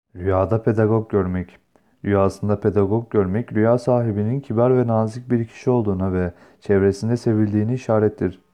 Rüyada pedagog görmek. Rüyasında pedagog görmek, rüya sahibinin kibar ve nazik bir kişi olduğuna ve çevresinde sevildiğini işarettir.